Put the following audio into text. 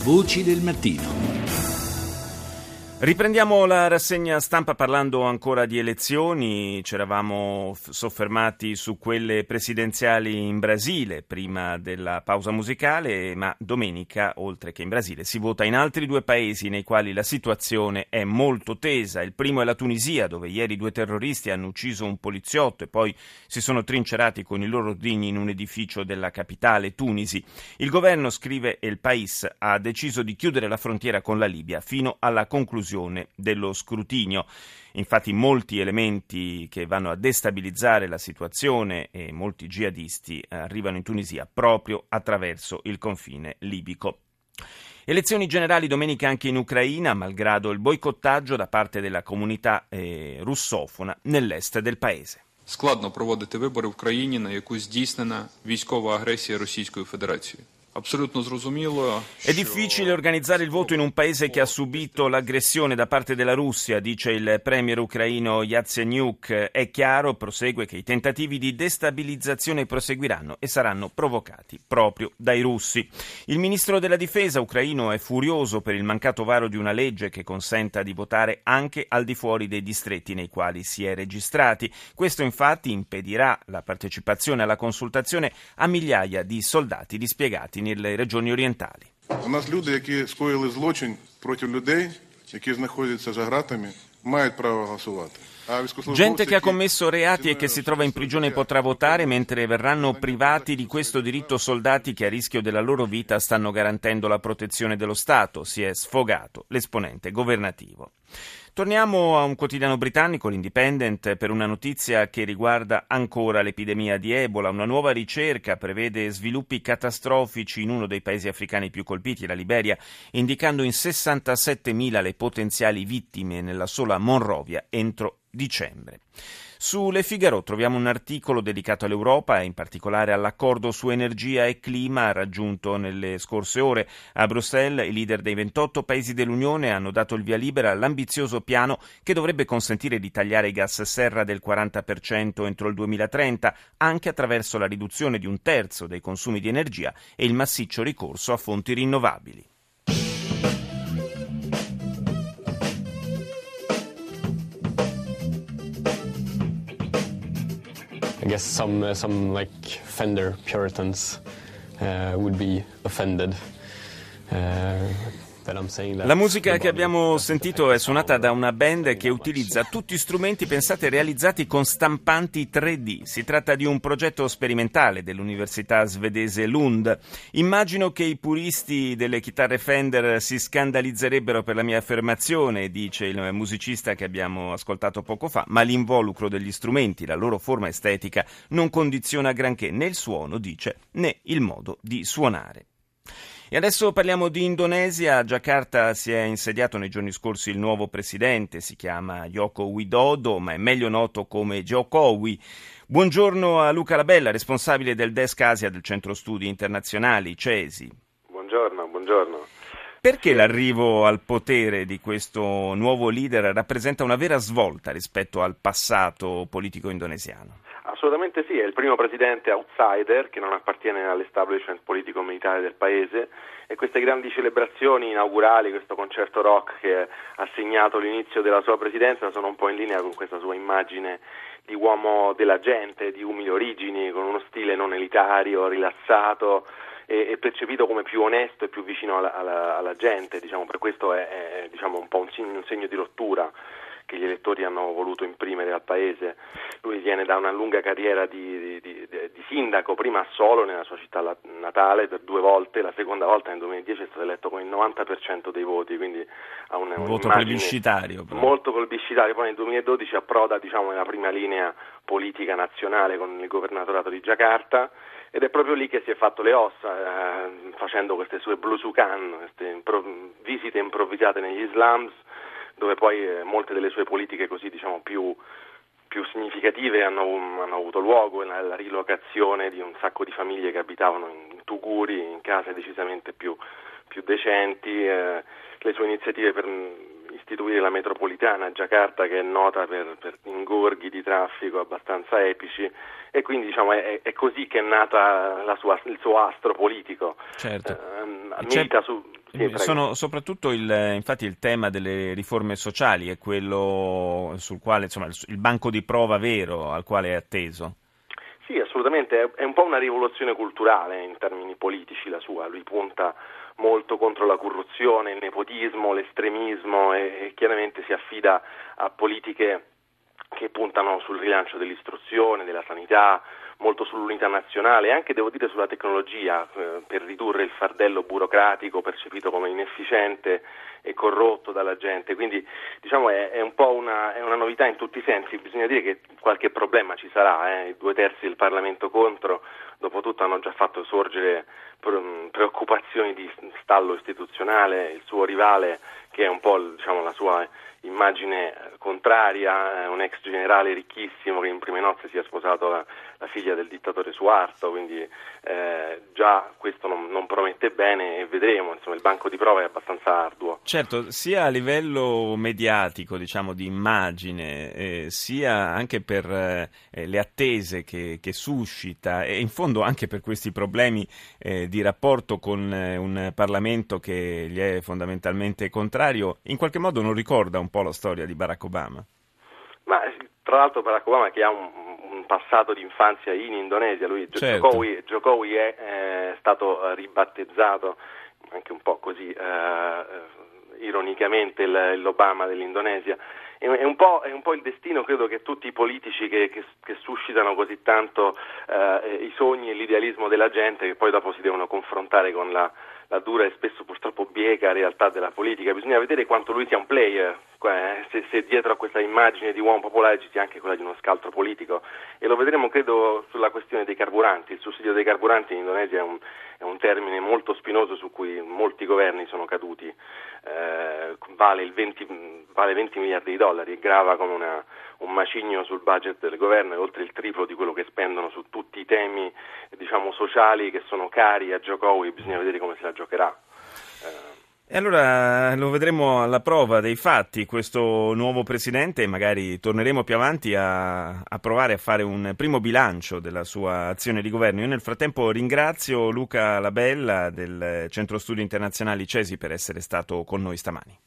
Voci del mattino. Riprendiamo la rassegna stampa parlando ancora di elezioni. Ci eravamo soffermati su quelle presidenziali in Brasile prima della pausa musicale, ma domenica, oltre che in Brasile, si vota in altri due paesi nei quali la situazione è molto tesa. Il primo è la Tunisia, dove ieri due terroristi hanno ucciso un poliziotto e poi si sono trincerati con i loro ordigni in un edificio della capitale Tunisi. Il governo, scrive El País, ha deciso di chiudere la frontiera con la Libia fino alla conclusione dello scrutinio. Infatti molti elementi che vanno a destabilizzare la situazione e molti jihadisti arrivano in Tunisia proprio attraverso il confine libico. Elezioni generali domenica anche in Ucraina, malgrado il boicottaggio da parte della comunità russofona nell'est del paese. Складно проводити вибори в країні, на яку здійснена військова агресія Російської Федерації. È difficile organizzare il voto in un paese che ha subito l'aggressione da parte della Russia, dice il premier ucraino Yatsenyuk. È chiaro, prosegue, che i tentativi di destabilizzazione proseguiranno e saranno provocati proprio dai russi. Il ministro della difesa ucraino è furioso per il mancato varo di una legge che consenta di votare anche al di fuori dei distretti nei quali si è registrati. Questo infatti impedirà la partecipazione alla consultazione a migliaia di soldati dispiegati nelle regioni orientali. У нас люди, які скоїли злочин проти людей, які знаходяться за ґратами, мають право голосувати. Gente che ha commesso reati e che si trova in prigione potrà votare, mentre verranno privati di questo diritto soldati che a rischio della loro vita stanno garantendo la protezione dello Stato, si è sfogato l'esponente governativo. Torniamo a un quotidiano britannico, l'Independent, per una notizia che riguarda ancora l'epidemia di Ebola. Una nuova ricerca prevede sviluppi catastrofici in uno dei paesi africani più colpiti, la Liberia, indicando in 67.000 le potenziali vittime nella sola Monrovia entro dicembre. Su Le Figaro troviamo un articolo dedicato all'Europa e in particolare all'accordo su energia e clima raggiunto nelle scorse ore. A Bruxelles i leader dei 28 paesi dell'Unione hanno dato il via libera all'ambizioso piano che dovrebbe consentire di tagliare i gas serra del 40% entro il 2030, anche attraverso la riduzione di un terzo dei consumi di energia e il massiccio ricorso a fonti rinnovabili. I guess some like Fender Puritans would be offended that I'm saying that. La musica che abbiamo sentito è suonata da una band che utilizza tutti strumenti, pensate, realizzati con stampanti 3D. Si tratta di un progetto sperimentale dell'università svedese Lund. Immagino che i puristi delle chitarre Fender si scandalizzerebbero per la mia affermazione, dice il musicista che abbiamo ascoltato poco fa, ma l'involucro degli strumenti, la loro forma estetica, non condiziona granché né il suono, dice, né il modo di suonare. E adesso parliamo di Indonesia. A Giacarta si è insediato nei giorni scorsi il nuovo presidente, si chiama Joko Widodo, ma è meglio noto come Jokowi. Buongiorno a Luca Labella, responsabile del Desk Asia del Centro Studi Internazionali, CESI. Buongiorno. Perché l'arrivo al potere di questo nuovo leader rappresenta una vera svolta rispetto al passato politico indonesiano? Assolutamente sì, è il primo presidente outsider che non appartiene all'establishment politico-militare del paese e queste grandi celebrazioni inaugurali, questo concerto rock che ha segnato l'inizio della sua presidenza sono un po' in linea con questa sua immagine di uomo della gente, di umili origini, con uno stile non elitario, rilassato e percepito come più onesto e più vicino alla gente, diciamo, per questo è diciamo un po' un segno di rottura che gli elettori hanno voluto imprimere al paese. Lui viene da una lunga carriera di sindaco, prima a Solo, nella sua città natale, per 2 volte, la seconda volta nel 2010 è stato eletto con il 90% dei voti, quindi ha un voto plebiscitario. Molto plebiscitario, poi nel 2012 approda nella prima linea politica nazionale con il governatorato di Giacarta, ed è proprio lì che si è fatto le ossa, facendo queste sue blusukan, queste visite improvvisate negli slums, dove poi molte delle sue politiche così più significative hanno avuto luogo, la rilocazione di un sacco di famiglie che abitavano in tuguri, in case decisamente più decenti, le sue iniziative per istituire la metropolitana a Giacarta, che è nota per ingorghi di traffico abbastanza epici, e quindi è così che è nata il suo astro politico. Certo. Milita Soprattutto infatti il tema delle riforme sociali è quello sul quale, insomma, il banco di prova vero al quale è atteso. Sì, assolutamente, è un po' una rivoluzione culturale in termini politici la sua, lui punta molto contro la corruzione, il nepotismo, l'estremismo e chiaramente si affida a politiche che puntano sul rilancio dell'istruzione, della sanità, molto sull'unità nazionale e anche, devo dire, sulla tecnologia per ridurre il fardello burocratico percepito come inefficiente e corrotto dalla gente. Quindi diciamo è un po' è una novità in tutti i sensi. Bisogna dire che qualche problema ci sarà, i 2/3 del Parlamento contro, dopo tutto hanno già fatto sorgere preoccupazioni di stallo istituzionale, il suo rivale che è un po' la sua immagine contraria, un ex generale ricchissimo che in prime nozze si è sposato la figlia del dittatore Suharto, quindi già questo non promette bene e vedremo, insomma il banco di prova è abbastanza arduo. Certo, sia a livello mediatico, diciamo di immagine, sia anche per le attese che suscita e in fondo anche per questi problemi di rapporto con un Parlamento che gli è fondamentalmente contrario, in qualche modo non ricorda un po' la storia di Barack Obama? Ma tra l'altro Barack Obama che ha un passato di infanzia in Indonesia, lui certo. Jokowi è stato ribattezzato anche un po' così ironicamente l'Obama dell'Indonesia. È un po' il destino, credo, che tutti i politici che suscitano così tanto i sogni e l'idealismo della gente, che poi dopo si devono confrontare con la dura e spesso purtroppo bieca realtà della politica. Bisogna vedere quanto lui sia un player, se dietro a questa immagine di uomo popolare ci sia anche quella di uno scaltro politico, e lo vedremo credo sulla questione dei carburanti. Il sussidio dei carburanti in Indonesia è un termine molto spinoso su cui molti governi sono caduti, vale 20 miliardi di dollari e grava come un macigno sul budget del governo, e oltre il triplo di quello che spendono su tutti i temi sociali che sono cari a Jokowi. Bisogna vedere come se la giocherà. E allora lo vedremo alla prova dei fatti, questo nuovo presidente, e magari torneremo più avanti a provare a fare un primo bilancio della sua azione di governo. Io nel frattempo ringrazio Luca Labella del Centro Studi Internazionali CESI per essere stato con noi stamani.